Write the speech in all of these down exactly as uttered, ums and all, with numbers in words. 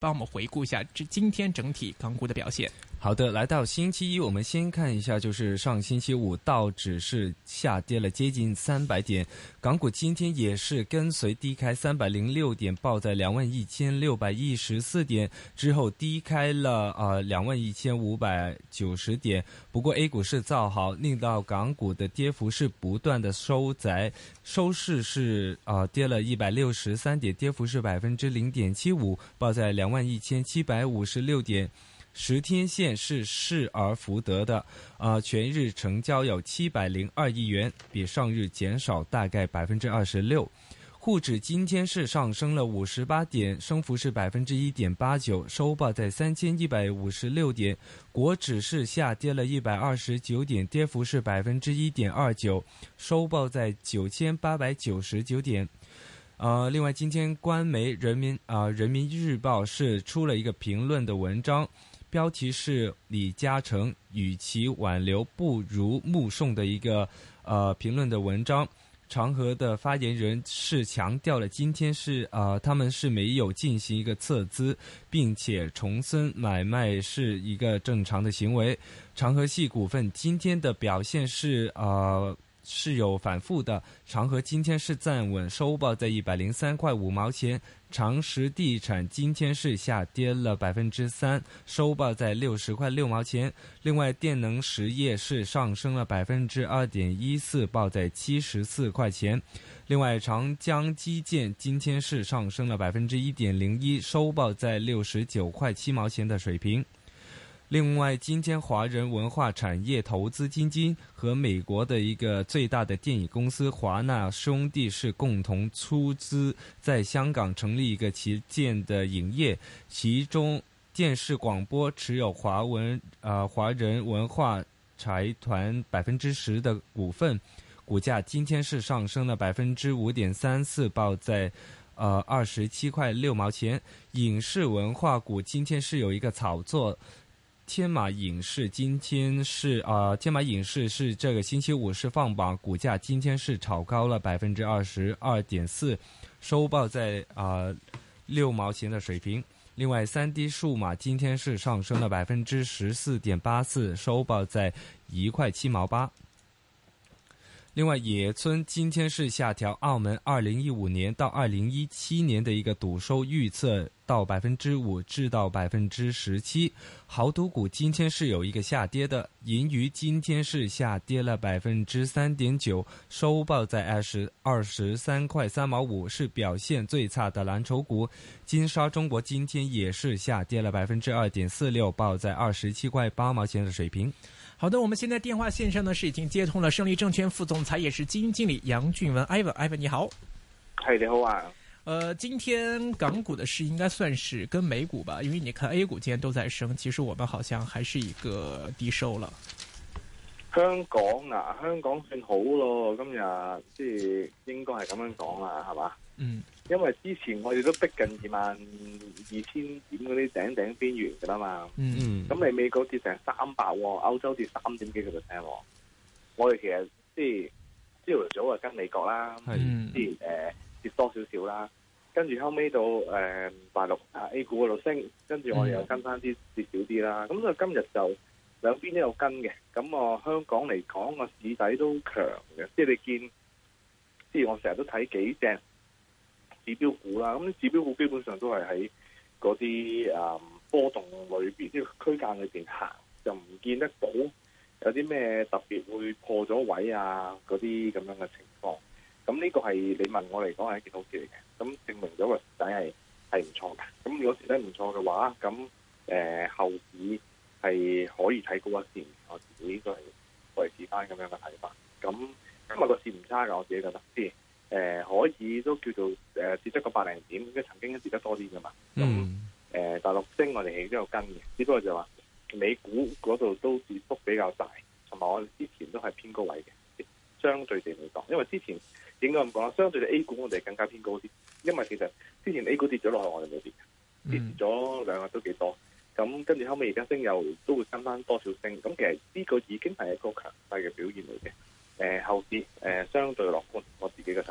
帮我们回顾一下这今天整体港股的表现。 好的，来到星期一，我们先看一下，就是上星期五道指是下跌了接近三百点，港股今天也是跟随低开三百零六点，报在两万一千六百一十四点，之后低开了呃两万一千五百九十点。不过 A 股是造好，令到港股的跌幅是不断的收窄，收市是呃跌了一百六十三点，跌幅是百分之零点七五，报在两万一千七百五十六点。十天线是失而复得的，呃，全日成交有七百零二亿元，比上日减少大概百分之二十六。沪指今天是上升了五十八点，升幅是百分之一点八九，收报在三千一百五十六点。国指是下跌了一百二十九点，跌幅是百分之一点二九，收报在九千八百九十九点。呃，另外今天官媒人民啊、呃、人民日报是出了一个评论的文章。标题是李嘉诚与其挽留不如目送的一个呃评论的文章。长和的发言人是强调了今天是呃他们是没有进行一个撤资，并且重申买卖是一个正常的行为。长和系股份今天的表现是呃是有反复的，长和今天是站稳，收报在一百零三块五毛钱。长实地产今天是下跌了百分之三，收报在六十块六毛钱。另外，电能实业是上升了百分之二点一四，报在七十四块钱。另外，长江基建今天是上升了百分之一点零一，收报在六十九块七毛钱的水平。另外，今天华人文化产业投资基金和美国的一个最大的电影公司华纳兄弟是共同出资在香港成立一个旗舰的影业，其中电视广播持有华文呃华人文化财团百分之十的股份，股价今天是上升了百分之五点三四，报在呃二十七块六毛钱。影视文化股今天是有一个炒作。天马影视今天是呃，天马影视是这个星期五是放榜，股价今天是炒高了百分之二十二点四，收报在呃六毛钱的水平。另外，三 D 数码今天是上升了百分之十四点八四，收报在一块七毛八。另外，野村今天是下调澳门二零一五年到二零一七年的一个赌收预测到百分之五至到百分之十七。豪赌股今天是有一个下跌的，银娱今天是下跌了百分之三点九，收报在二十二十三块三毛五，是表现最差的蓝筹股。金沙中国今天也是下跌了百分之二点四六，报在二十七块八毛钱的水平。 好的，我们现在电话线上呢是已经接通了胜利证券副总裁也是基金经理杨俊文 Ivan Ivan 你好。 係你好啊。 呃，今天港股的市應該算是跟美股吧，因為你看 A 股今天都在升，其實我們好像還是一個低收了。 香港啊，香港算好咯，今日即係應該係咁樣講啦，係嘛？嗯。因為之前我哋都逼近二萬二千點嗰啲頂頂邊緣㗎啦嘛。嗯嗯。咁你美國跌成三百喎，歐洲跌三點幾個 percent 喎。我哋其實即係朝頭早啊跟美國啦，即係誒。跌多少少啦，跟住後尾到誒、呃、大陸啊 A 股嗰度升，跟住我哋又跟翻啲跌少啲啦。咁所以今日就兩邊都有跟嘅。咁我、呃、香港嚟講個市底都強嘅，即係你見，即係我成日都睇幾隻指標股啦。咁指標股基本上都係喺嗰啲誒波動裏邊，即係區間裏邊行，就唔見得到有啲咩特別會破咗位啊嗰啲咁樣嘅情況。咁呢個係你問我嚟講係一件好事嚟嘅，咁證明咗個市底係係唔錯嘅。咁如果市底唔錯嘅話，咁誒、呃、後市係可以睇高一線。我自己都係維持翻咁樣嘅睇法。咁今日個市唔差㗎，我自己覺得，即係誒可以都叫做誒、呃、跌得個百零點，因為曾經都跌得多啲㗎嘛。咁誒、呃、大陸升我哋係都有跟嘅，只不過就話美股嗰度都跌幅比較大，同埋我哋之前都係偏高位嘅，相對地嚟講，因為之前。應該咁講啦，相對嘅 A 股我哋更加偏高啲，因為其實之前 A 股跌咗落去，我哋冇跌，跌咗兩日都幾多。咁跟住後尾而家升又都會跟翻多少升，咁其實呢個已經係一個強勢嘅表現嚟嘅。誒、呃、後市誒、呃、相對樂觀，我自己嘅睇法。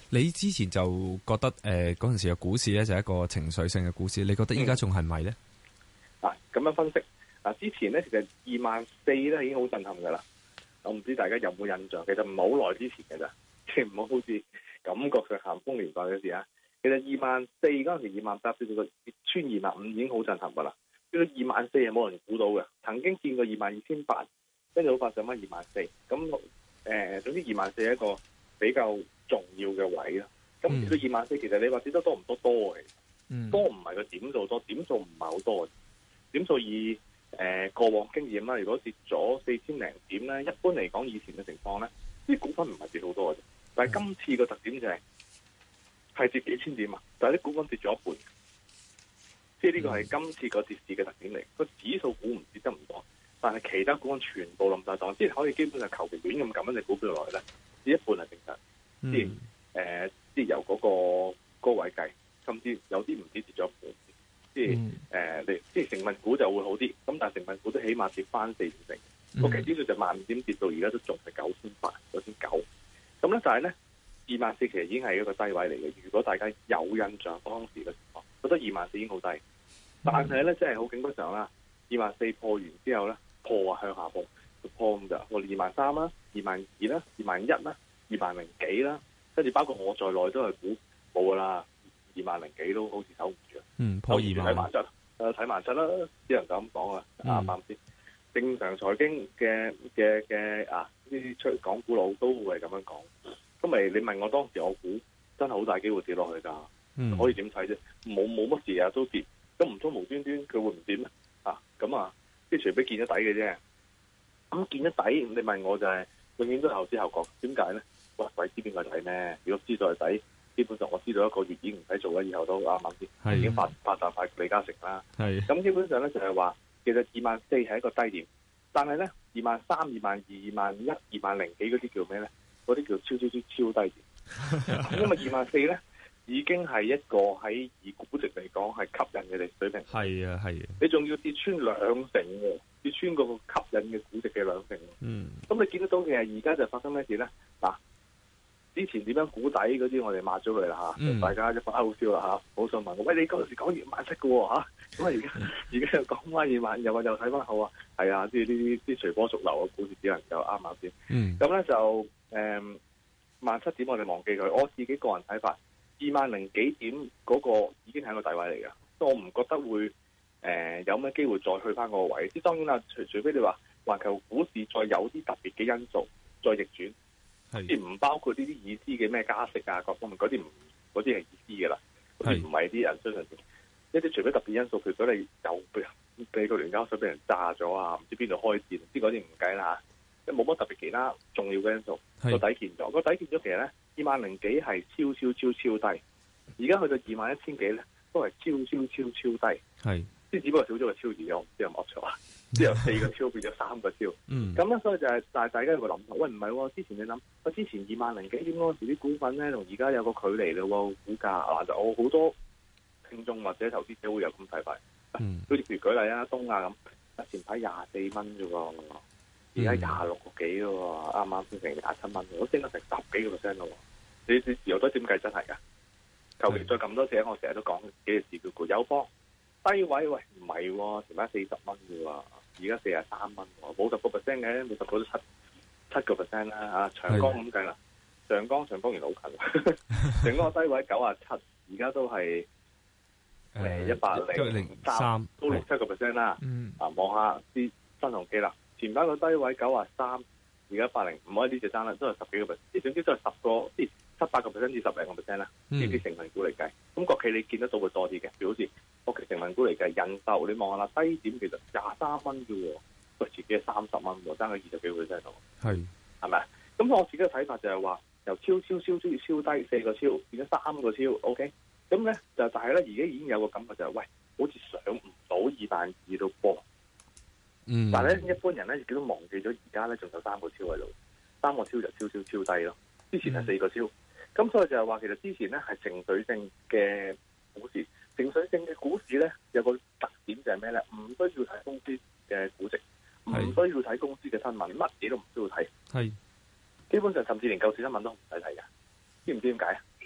你之前就覺得誒嗰陣時嘅股市咧就係一個情緒性嘅股市，你覺得依家仲係咪咧？ 啊，咁樣分析啊，之前咧其實二萬四咧已經好震撼噶啦。我唔知大家有冇印象，其實唔係好耐之前嘅咋，即係唔好好似感覺上咸豐年代嘅事啊。其實二萬四嗰陣時，二萬八至到個穿二萬五已經好震撼噶啦。呢個二萬四係冇人估到嘅，曾經見過二萬二千八，跟住好快上翻二萬四。咁誒，總之二萬四係一個比較重要嘅位啦。咁至到二萬四，其實你話跌得多唔多？多嘅，嗯、多唔係個點數多，點數唔係好多嘅。點數以誒、呃、過往經驗啦，如果跌咗四千零點咧，一般嚟講以前嘅情況咧，啲股份唔係跌好多嘅啫。但係今次個特點就係、是、係跌幾千點啊，但係啲股份跌咗一半。即係呢個係今次個跌市嘅特點嚟。個指數股唔跌得唔多，但係其他股份全部冧晒檔，即係可以基本上求其亂咁撳一隻股票落去咧，跌一半係正常。即係誒，即係由嗰個高位計，甚至有啲唔止跌咗一半。即係誒，你、呃、即係成分股就會好啲，咁但係成分股都起碼跌翻四五成。個期指數就萬五點跌到而家都仲係九千八、九千九。咁咧就係咧，二萬四其實已經係一個低位嚟嘅。如果大家有印象當時嘅情況，覺得二萬四已經好低。但係咧，真係好景不常啦。二萬四破完之後咧，破啊向下破，破咁就破二萬三啦、二萬二啦、二萬一啦、二萬零幾啦，跟住包括我在內都係估冇噶啦。二萬零幾都好似守唔住，嗯，破二萬睇萬七，誒睇萬七啦，只能咁講啊，啱啱先？正常財經嘅嘅嘅啊，呢啲出港股佬都會係咁樣講。咁咪你問我當時我估真係好大機會跌落去㗎，嗯、可以點睇啫？冇冇乜事啊都跌，咁唔通無端端佢會唔跌咩？啊咁啊，即係除非見咗底嘅啫。咁見咗底，你問我就係、是、永遠都後知後覺，點解咧？喂，鬼知邊個底咩？如果知道係底。基本上我知道一個月已經唔使做啦，以後都啱啱先，已經發發達快李嘉誠啦。係咁，基本上咧就係話，其實二萬四係一個低點，但係咧二萬三、二萬二、二萬一、二萬零幾嗰啲叫咩咧？嗰啲叫超超超超低點。因為二萬四咧已經係一個喺以估值嚟講係吸引嘅嚟水平。係啊係啊，你仲要跌穿兩成喎，跌穿嗰個吸引嘅估值嘅兩成。嗯，咁你見得到嘅係而家就發生咩事咧？嗱。之前點樣估底嗰啲，我哋抹咗佢啦嚇，嗯、大家一發好笑啦嚇，好想問我，喂，你嗰陣時講二萬七嘅喎嚇，咁啊而家而家又講翻二萬，又話又睇翻好啊，係啊，即係呢啲啲隨波逐流嘅股市只能夠啱啱先。嗯，咁咧就誒萬七點我哋忘記佢，我自己個人睇法，二萬零幾點嗰個已經係一個底位嚟嘅，所以我唔覺得會誒、呃、有咩機會再去翻嗰個位。即係當然啦，除除非你話環球股市再有啲特別嘅因素再逆轉。即係唔包括呢啲意思嘅咩加息啊，各方面嗰啲唔嗰啲係意思嘅啦，嗰啲唔係啲人相信一啲除非特別因素，譬如果你又俾俾個聯交所俾人炸咗啊，唔知邊度開戰，啲嗰啲唔計啦嚇，即冇乜特別其他重要嘅因素，個底見咗，個底見咗其實咧二萬零幾係超超超超低，而家去到二萬一千幾咧都係超超超超低，係即係只不過少咗個超字，我唔知有冇錯啊。即係由四個超變咗三個超，咁咧、嗯、所以就係、是，但係大家有個諗頭，喂唔係喎，之前你諗，我之前二萬零幾點嗰時啲股份咧，同而家有個距離咯喎，股價嗱就我好多聽眾或者投資者會有咁睇法，好似、嗯、譬如舉例啊，東亞咁，前排廿四蚊啫喎，而家廿六個幾咯喎，啱啱先成廿七蚊，我升咗成十幾個 percent 咯喎，你你有得點計真係㗎？求其再咁多隻，我成日都講幾隻字叫做友邦。低位喂唔係喎，前排四十蚊嘅喎，而家四十三蚊喎，冇十個 percent 嘅，冇十個都七七個 percent 啦嚇。長江咁計啦，長江長江原來好近，長江個低位九啊七，而家都係誒一百零三，都六七個 percent 啦。啊，望下啲新鴻基啦，前排個低位九啊三，而家一百零五，唔可以呢隻爭啦，都係十幾個 percent，即係總之都係十個，即係七八個 percent 至十零個 percent 啦。呢啲成分股嚟計，咁國企你見得到會多啲嘅，譬如好似。國企成分股嚟計，印度你望下啦，低點其實廿三蚊嘅喎，佢自己係三十蚊喎，爭佢二十幾個 percent 度，係係咪啊？咁我自己嘅睇法就係話，由超超超超超低四個超變咗三個超 ，OK？咁咧就但係咧，而家已經有個感覺就係、是，喂，好似上唔到二萬二度波，嗯，但係咧一般人咧亦都忘記咗，而家咧仲有三個超喺度，三個超就超超超低咯，之前係四個超，咁、嗯、所以就係話其實之前咧係情緒性嘅股市。情緒性嘅股市咧，有個特點就係咩咧？唔需要睇公司嘅估值，唔需要睇公司嘅新聞，乜嘢都唔需要睇。係基本上甚至連救市新聞都唔使睇㗎。知唔知點解啊？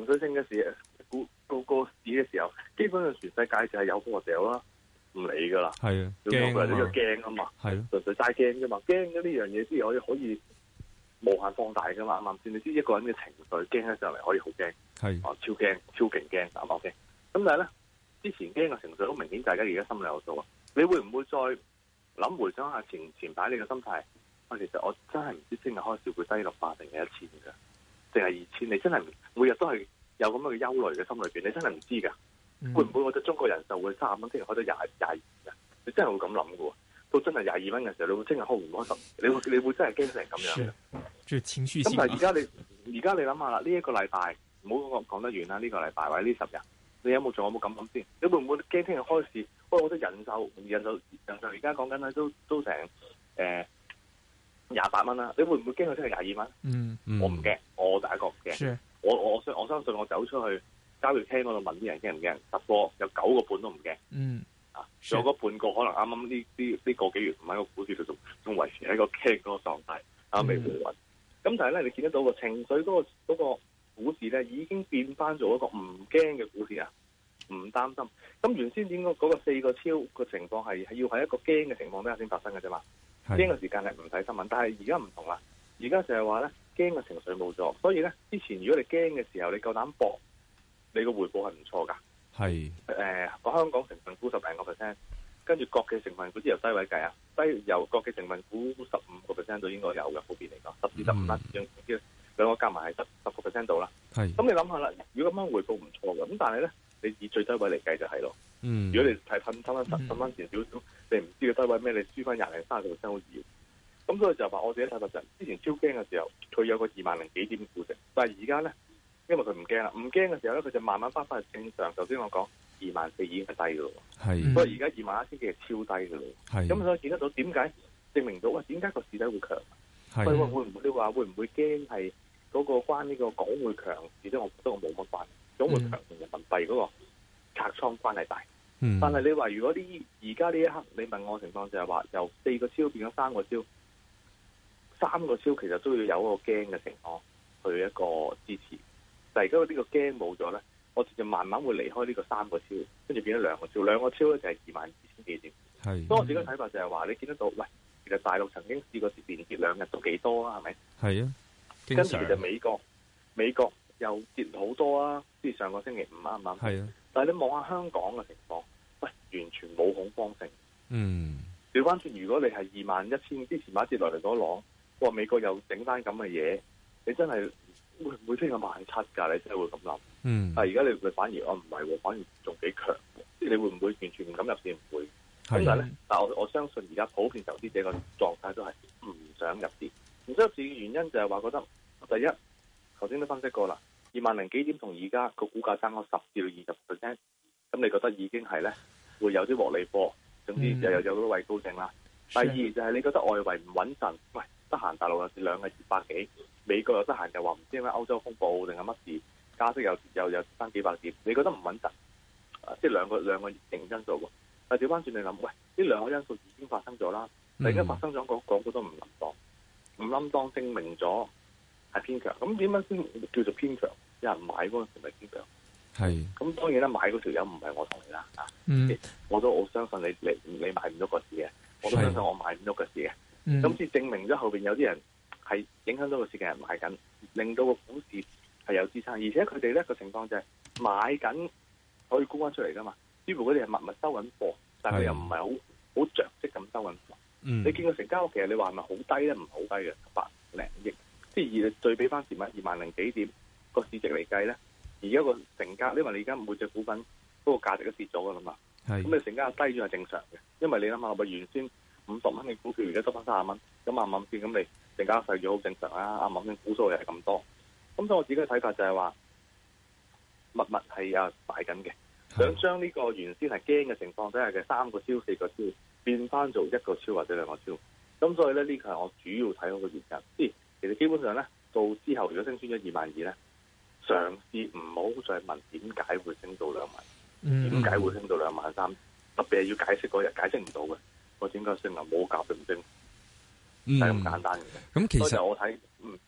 情緒性嘅事，股個個市嘅時候，基本上全世界就係有貨掉啦，唔理噶啦。 係啊， 驚啊嘛，呢個驚啊嘛， 係咯， 純粹齋驚啫嘛，驚咗呢樣嘢先可以可以無限放大噶嘛，啱唔啱先？你知一個人嘅情緒驚起上嚟可以好驚， 係哦超驚超勁驚，啱唔啱先？咁但係咧，之前驚嘅情緒好明顯，大家而家心裏有數啊。你會唔會再諗回想下前前排你嘅心態？啊，其實我真係唔知聽日開市會低六百定係一千㗎，定係二千？你真係每日都係有咁樣嘅憂慮嘅心裏邊，你真係唔知㗎。嗯、會唔會我哋中國人就會三十蚊聽日開到廿廿二嘅？你真係會咁諗嘅喎。到真係廿二蚊嘅時候，你會聽日開唔開十？你會你會真係驚成咁樣嘅？ 即係情緒性。 咁但係而家你而家你諗下啦，呢、這、一個禮拜唔好講講得遠啦，呢、這個禮拜或者呢十日，你有冇做？有冇咁諗先？你會唔會驚聽日開市？喂，我覺得人壽人壽人壽而家講緊咧都都成誒廿八蚊啦。你會唔會驚佢聽日廿二蚊？ 嗯， 我唔驚，我第一個唔驚。我我相我相信我走出去交易廳嗰度問啲人驚唔驚？十個有九個半都唔驚。嗯。啊，仲有嗰半個可能啱啱呢啲呢個幾月唔喺個股市度仲仲維持喺個驚嗰個狀態，啊未回穩。咁、嗯、但係咧，你見得到個情緒嗰、嗰個、嗰個股市咧，已經變翻做一個唔驚嘅股市啊，唔擔心。咁原先點解嗰個四個超個情況係係要喺一個驚嘅情況底下先發生嘅啫嘛？驚嘅時間係唔睇新聞，但係而家唔同啦。而家就係話咧，驚嘅情緒冇咗，所以咧之前如果你驚嘅時候，你夠膽搏，你個回報係唔錯㗎。係誒，個、呃、香港成分股十零個 percent， 跟住國際成分股之由低位計啊，低由國際成分股十五個 percent 都應該有嘅，普遍嚟講，十至十五啦，兩兩個加埋係十十個 percent 度啦。係，咁你諗下啦，如果咁樣回報唔錯嘅，咁但係咧，你以最低位嚟計就係咯。嗯，如果你睇噴翻十十蚊錢少少，你唔知個低位咩，你輸翻廿零三十個 percent 好易。咁所以就話我自己睇法就係，之前超驚嘅時候，佢有個二萬零幾點估值，但係而家咧。因為佢唔驚啦，唔驚嘅時候咧，佢就慢慢翻返去正常。頭先我講二萬四已經係低嘅咯，係，所以而家二萬一千幾係超低嘅咯，係。咁所以見得到點解證明到喂，點解個市底會強？係，會會唔會你話會唔會驚係嗰個關呢個港匯強？而且我覺得我冇乜關係，港匯強同人民幣嗰個拆倉關係大。嗯，但係你話如果呢而家呢一刻你問我情況就係話由四個超變咗三個超，三個超其實都要有一個驚嘅情況去一個支持。但係而家呢個驚冇咗咧，我就慢慢會離開呢個三個超，跟住變咗兩個超，兩個超咧就係二萬二千幾點。係，所以我自己睇法就係話，你見得到，喂，其實大陸曾經試過連跌兩日都幾多啊，係咪？係啊，跟住其實美國美國又跌好多啊，即係上個星期五啱唔啱？係啊。但係你望下香港嘅情況，喂，完全冇恐慌性。嗯。調翻轉，如果你係二萬一千之前買跌落嚟嗰浪，哇，美國又整翻咁嘅嘢，你真係〜會唔會升到萬七㗎？你真係會咁諗？嗯。但係而家你會反而我唔係喎，反而仲幾強。即係你會唔會完全唔敢入市？唔會。咁但係咧，但係我我相信而家普遍投資者個狀態都係唔想入市。唔想入市嘅原因就係話覺得第一，頭先都分析過啦，二萬零幾點同而家個股價爭咗十至到二十 percent，咁你覺得已經係咧會有啲獲利貨，總之又有有啲位高性啦。第二就係你覺得外圍唔穩陣，喂，得閒大陸有兩個二百幾。美國又得閒又話唔知點解歐洲風暴定係乜事，加息又又又翻幾百點，你覺得唔穩陣？啊，即係兩個兩個因素喎。但係調翻轉你諗，喂，呢兩個因素已經發生咗啦，突然間發生咗，講講好多唔冧當，唔冧當證明咗係偏強。咁點樣先叫做偏強？有人買嗰陣時咪偏強？係。咁當然啦，買嗰條友唔係我同你啦，啊、嗯，我都我相信你你你買唔到個市嘅，我都相信我買唔到個市嘅。咁先證明咗後邊有啲人。係影響到個市嘅人買緊，令到個股市係有支撐，而且佢哋咧個情況就係買緊可以沽翻出嚟噶嘛。似乎佢哋係默默收緊貨，但係佢又唔係好好着跡咁收緊貨。嗯、你見個成交其實你話係咪好低咧？唔係好低嘅，百零億。即係而對比翻前晚二萬零幾點個市值嚟計咧，而家個成交，因為你而家每隻股份嗰個價值都跌咗噶啦嘛。咁你成交低咗係正常嘅，因為你諗下，咪原先五十蚊嘅股票而家得翻三十蚊，咁啱啱先咁你。成交細咗好正常啦，啱啱先股數又係咁多，咁所以我自己嘅睇法就係話，密密係啊擺緊嘅，想將呢個原先係驚嘅情況底下嘅三個超四個超變翻做一個超或者兩個超，咁所以咧呢個係我主要睇好嘅原因。即係其實基本上咧到之後如果升穿咗二萬二咧，嘗試唔好再問點解會升到兩萬，點解會升到兩萬三，特別係要解釋嗰日解釋唔到嘅，我點解升啊冇價並唔升。就係咁簡單嘅。咁、嗯、其實我睇，嗯係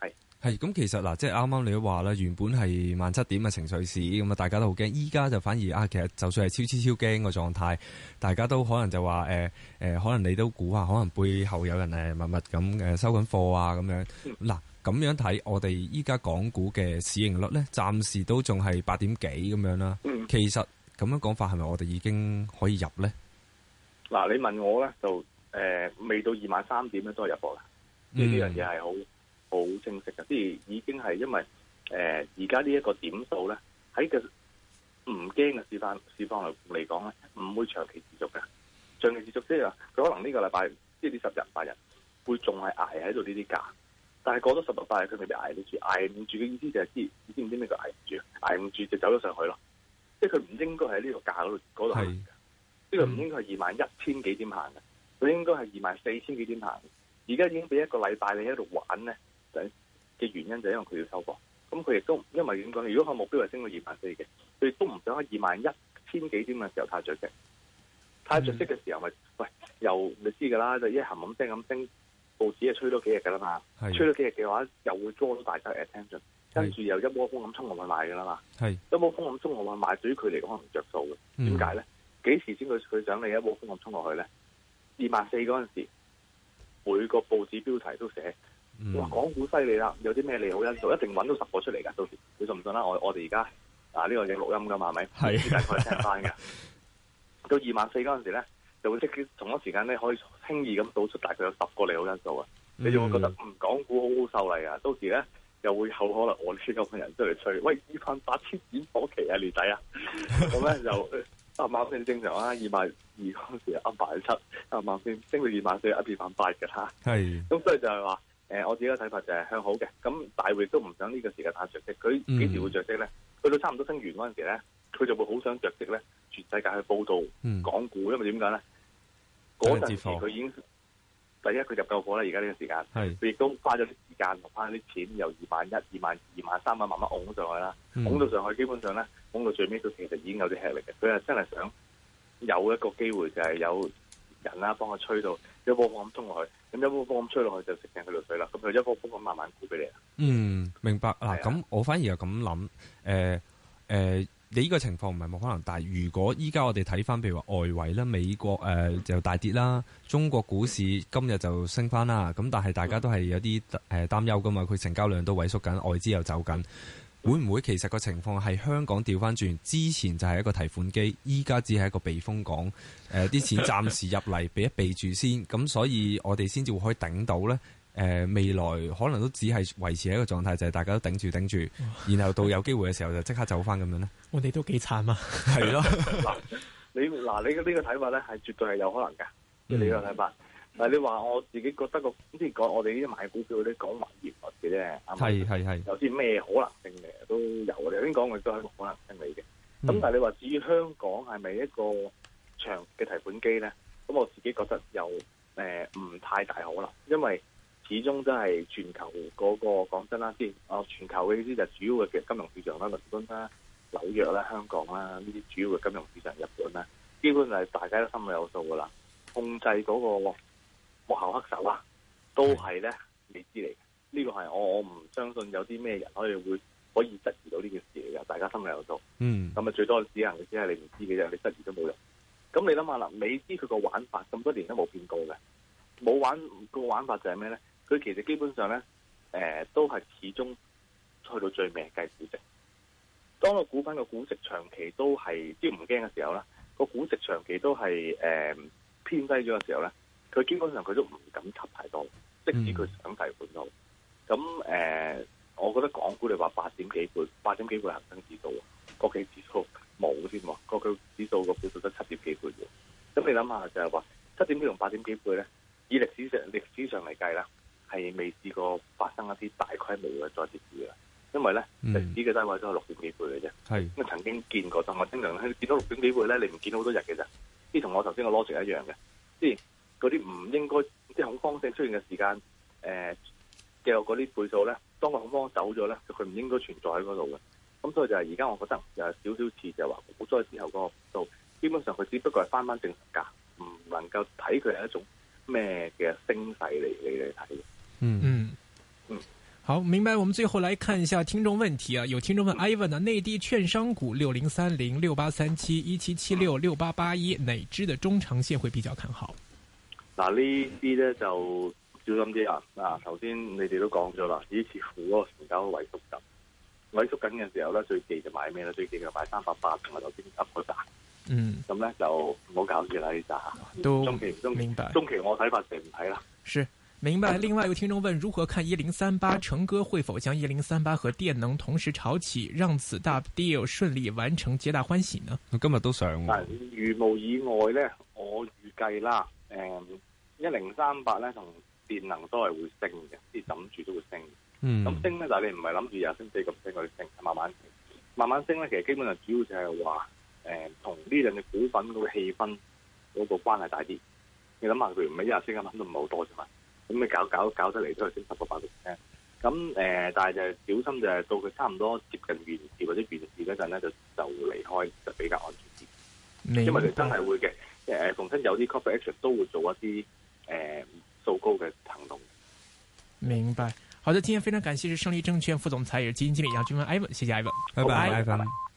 係咁，其實嗱，即係啱啱你都話啦，原本係萬七點嘅情緒市，咁啊，大家都好驚。依家就反而啊，其實就算係超超超驚個狀態，大家都可能就話誒誒，可能你都估下，可能背後有人誒默默咁誒收緊貨啊咁樣。嗱、嗯，咁樣睇，我哋依家港股嘅市盈率咧，暫時都仲係八點幾咁樣啦。嗯、其實咁樣講法係咪我哋已經可以入咧？ 嗱，你問我咧就誒、呃，未到二萬三點咧都係入貨啦。呢呢樣嘢係好。好清晰嘅，即係已經係因為誒而家呢一個點數咧，喺個唔驚嘅市況市況嚟嚟講咧，唔會長期持續嘅。長期持續即係話，佢可能呢個禮拜即係呢十日八日會仲係捱喺度呢啲價，但係過咗十日八日佢未必捱得住，捱唔住嘅意思就係知你知唔知咩叫捱唔住？捱唔住就走咗上去咯。即係佢唔應該喺呢個價嗰度嗰度行嘅，呢個唔應該係二萬一千幾點行嘅，佢應該係二萬四千幾點行。而家已經俾一個禮拜你喺度玩咧。嘅原因就係因為佢要收貨，咁佢亦都因為點講？如果佢目標係升到二萬四嘅，佢亦都唔想喺二萬一千幾點嘅時候太着息，太着息嘅時候咪、就是、喂又你知㗎啦，就一冚冚聲咁升，報紙係吹多幾日㗎啦嘛，吹多幾日嘅話又會 draw 到大家 attention， 跟住又一窩蜂咁衝落去買㗎啦嘛，一窩蜂咁衝落去買，對於佢嚟講可能着數嘅，點解咧？幾時先佢佢想你一窩蜂咁衝落去咧？二萬四嗰陣時，每個報紙標題都寫。哇！港股犀利啦，有啲咩利好因素，一定揾到十個出嚟噶。到時你信唔信啦？我我哋而家啊呢、這個影錄音噶嘛，係咪？係大概聽翻嘅。到二萬四嗰陣時咧，就會即係同一時間咧，可以輕易咁倒出大概有十個利好因素啊！嗯、你就會覺得嗯港股好好受嚟啊！到時咧又會有可能我呢啲咁嘅人出嚟吹，喂二萬八千點火期啊，年底啊！咁咧就啱啱先正常啊，二萬二嗰陣時啱萬七，啱啱先升到二萬四，一二萬八嘅啦。係。咁所以就係話。誒、呃，我自己嘅睇法就係向好嘅，咁大會都唔想呢個時間太着息，佢幾時會着息咧？去到差唔多升完嗰陣時咧，佢就會好想着息咧，全世界去報道港股，嗯、因為點解咧？嗰陣時佢已經第一佢入夠貨啦，而家呢個時間，佢亦都花咗啲時間同翻啲錢，由二萬一、二萬二萬三萬慢慢拱上去啦，拱、嗯、到上去基本上咧，拱到最尾佢其實已經有啲吃力嘅，佢係真係想有一個機會就係有人啦幫佢吹到一波波咁衝落去。咁一波波咁吹落去就食正佢條水啦，咁佢一波波咁慢慢沽俾你啦。嗯，明白嗱。咁、啊、我反而又咁諗，誒、呃、誒、呃，你呢個情況唔係冇可能，但係如果依家我哋睇翻，譬如話外圍啦，美國誒、呃、就大跌啦，中國股市今日就升翻啦。咁但係大家都係有啲誒擔憂噶嘛，佢成交量都萎縮緊，外資又走緊。會唔會其實個情況係香港調翻轉？之前就係一個提款機，依家只係一個避風港。誒、呃，啲錢暫時入嚟，避一避住先。咁所以我哋先至會可以頂到咧。誒、呃，未來可能都只係維持喺一個狀態，就係、是、大家都頂住頂住，然後到有機會嘅時候就即刻走翻咁樣咧。我哋都幾慘啊！係咯。嗱，你嗱你嘅呢個睇法咧，係絕對係有可能㗎。即、嗯、係你個睇法。但係你話我自己覺得個，即係講我哋呢啲買股票嗰啲講還業率嘅啫，係係係，有啲咩可能性嘅都有。我哋頭先講嘅都係一個可能性嚟嘅。咁、嗯、但係你話至於香港係咪一個長嘅提款機咧？咁我自己覺得又誒唔太大可能，因為始終都係全球嗰、嗰個講真啦，先啊全球嘅意思就主要嘅金融市場啦，倫敦啦、紐約啦、香港啦呢啲主要嘅金融市場，日本啦，基本係大家都心裏有數噶啦，控制嗰、嗰個。幕後黑手啊，都係咧未知嚟嘅。呢、這個係我我唔相信有啲咩人可以會可以質疑到呢件事嚟嘅。大家心裏有數。嗯。咁啊，最多只能只係你唔知嘅啫，你質疑都冇用。咁你諗下啦，美資佢個玩法咁多年都冇變過嘅，冇玩個玩法就係咩咧？佢其實基本上咧，誒、呃、都係始終去到最尾計估值。當個股份個估值長期都係即係唔驚嘅時候咧，個估值長期都係誒、呃、偏低咗嘅時候咧。佢基本上佢都唔敢吸太多，即使佢想提款都好。咁誒、呃，我覺得港股你話八點幾倍，八點幾倍恒生指數，國企指數冇添喎，國企指數個倍數得七點幾倍啫。咁你諗下就係話七點幾同八點幾倍咧，以歷史上歷史上嚟計啦，係未試過發生一啲大規模嘅再跌市嘅，因為咧歷、嗯、史嘅低位都係六點幾倍嘅啫。係咁曾經見過，但我經常見到六點幾倍咧，你唔見到好多日嘅啫。即係同我頭先個邏輯一樣嘅，即係。嗰啲唔應該即係恐慌性出現嘅時間，誒嘅嗰啲倍數咧，當個恐慌走咗咧，佢唔應該存在喺嗰度嘅。咁所以就係而家我覺得有少少似就係話股災之後嗰個數，基本上佢只不過係翻翻正常價，唔能夠睇佢係一種咩嘅升勢嚟嚟嚟睇嘅。嗯嗯嗯。 好，明白。我們最後來看一下聽眾問題啊，有聽眾問 Ivan 呢，內地券商股六零三零、六八三七、一七七六、六八八一，哪支的中長線會比較看好？ 嗱，呢啲咧就小心啲啊！嗱，頭先你哋都講咗啦，以似乎嗰個成交萎縮緊，萎縮緊嘅時候咧，最忌就買咩咧？最忌就買三百八同埋頭先噏嗰扎。嗯，咁咧就唔好搞住啦呢扎。都中期中明白。中期我睇法就唔睇啦。 是。明白。另外有聽眾問，如何看一零三八成哥會否將一零三八和電能同時炒起，讓此大 deal 順利完成，皆大歡喜呢？ 我今日都想。 如無意外咧，我預計啦，誒一零三八咧同電能都係會升嘅，啲枕住都會升。嗯。咁升咧，但係你唔係諗住廿升四咁升，佢升，慢慢升，慢慢升咧。其實基本上主要就係話，誒同呢兩隻股份嗰個氣氛嗰個關係大啲。你諗下，佢唔係一日升一蚊都唔係好多啫嘛。咁你搞搞搞得嚟都係升十個百分點，咁誒、呃，但係就小心就係到佢差唔多接近完市或者完市嗰陣咧，就就離開就比較安全啲。因為佢真係會嘅，誒逢親有啲 corporate action 都會做一啲誒數高嘅行動。 明白。好的，今天非常感謝是勝利證券副總裁也是基金經理楊俊文 Ivan，謝謝 Ivan， 拜拜 Ivan。